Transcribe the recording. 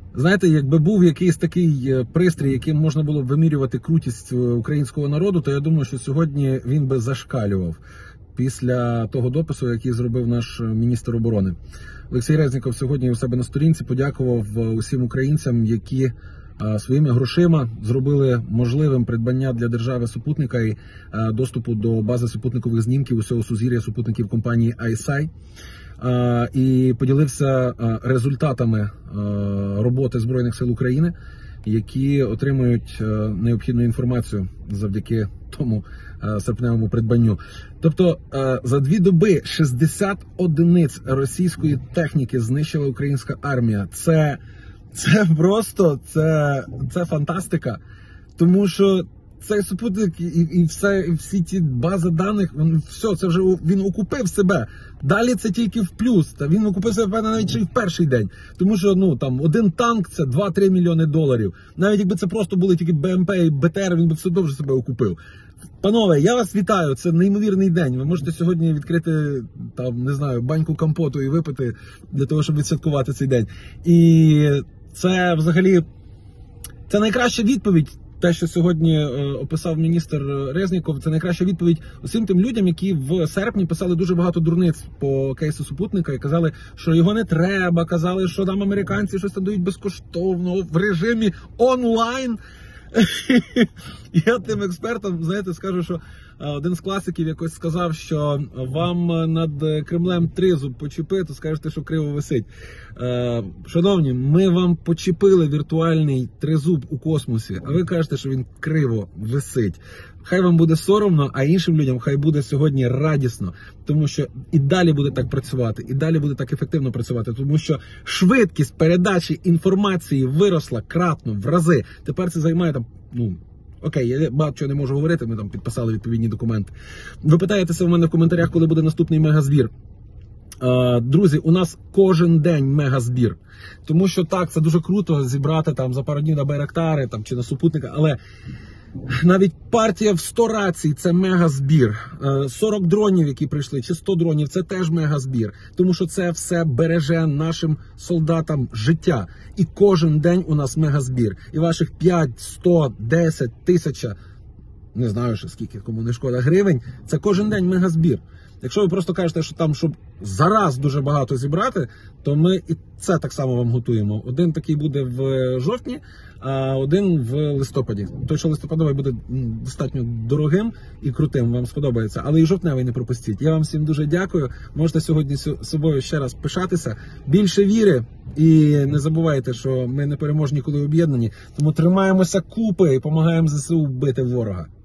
Знаєте, якби був якийсь такий пристрій, яким можна було б вимірювати крутість українського народу, то я думаю, що сьогодні він би зашкалював після того допису, який зробив наш міністр оборони. Олексій Резніков сьогодні у себе на сторінці подякував усім українцям, які своїми грошима зробили можливим придбання для держави супутника і доступу до бази супутникових знімків усього сузір'я супутників компанії ICEYE. І поділився результатами роботи Збройних сил України, які отримують необхідну інформацію завдяки тому серпневому придбанню. Тобто за 2 доби 60 одиниць російської техніки знищила українська армія. Це фантастика, тому що цей супутник і всі ті бази даних, це вже він окупив себе. Далі це тільки в плюс. Та він окупив себе навіть ще й в перший день. Тому що там один танк це 2-3 мільйони доларів. Навіть якби це просто були тільки БМП і БТР, він би все одно вже себе окупив. Панове, я вас вітаю, це неймовірний день. Ви можете сьогодні відкрити, баньку компоту і випити для того, щоб відсвяткувати цей день. І це взагалі, це найкраща відповідь. Те, що сьогодні описав міністр Резніков, це найкраща відповідь усім тим людям, які в серпні писали дуже багато дурниць по кейсу супутника і казали, що його не треба, казали, що там американці щось там дають безкоштовно в режимі онлайн. Я тим експертам, скажу, що один з класиків якось сказав, що вам над Кремлем тризуб почепити, то скажете, що криво висить. Шановні, ми вам почепили віртуальний тризуб у космосі, а ви кажете, що він криво висить. Хай вам буде соромно, а іншим людям хай буде сьогодні радісно, тому що і далі буде так працювати, і далі буде так ефективно працювати, тому що швидкість передачі інформації виросла кратно, в рази. Тепер це займає окей, я багато чого не можу говорити, ми там підписали відповідні документи. Ви питаєтеся в мене в коментарях, коли буде наступний мегазбір. Друзі, у нас кожен день мегазбір. Тому що так, це дуже круто зібрати за пару днів на Байрактари чи на супутника, але навіть партія в 100 рацій – це мегазбір. 40 дронів, які прийшли, чи 100 дронів – це теж мегазбір. Тому що це все береже нашим солдатам життя. І кожен день у нас мегазбір. І ваших 5, 100, 10, 1000, не знаю ще скільки, кому не шкода, гривень – це кожен день мегазбір. Якщо ви просто кажете, що щоб зараз дуже багато зібрати, то ми і це так само вам готуємо. Один такий буде в жовтні, а один в листопаді. Той, що листопадовий, буде достатньо дорогим і крутим, вам сподобається. Але і жовтневий не пропустіть. Я вам всім дуже дякую. Можете сьогодні собою ще раз пишатися. Більше віри і не забувайте, що ми не переможні, коли об'єднані. Тому тримаємося купи і допомагаємо ЗСУ бити ворога.